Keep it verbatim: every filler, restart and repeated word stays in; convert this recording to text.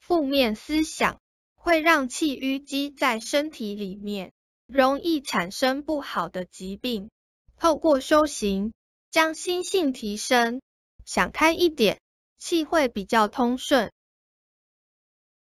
负面思想会让气淤积在身体里面，容易产生不好的疾病。透过修行，将心性提升，想开一点，气会比较通顺，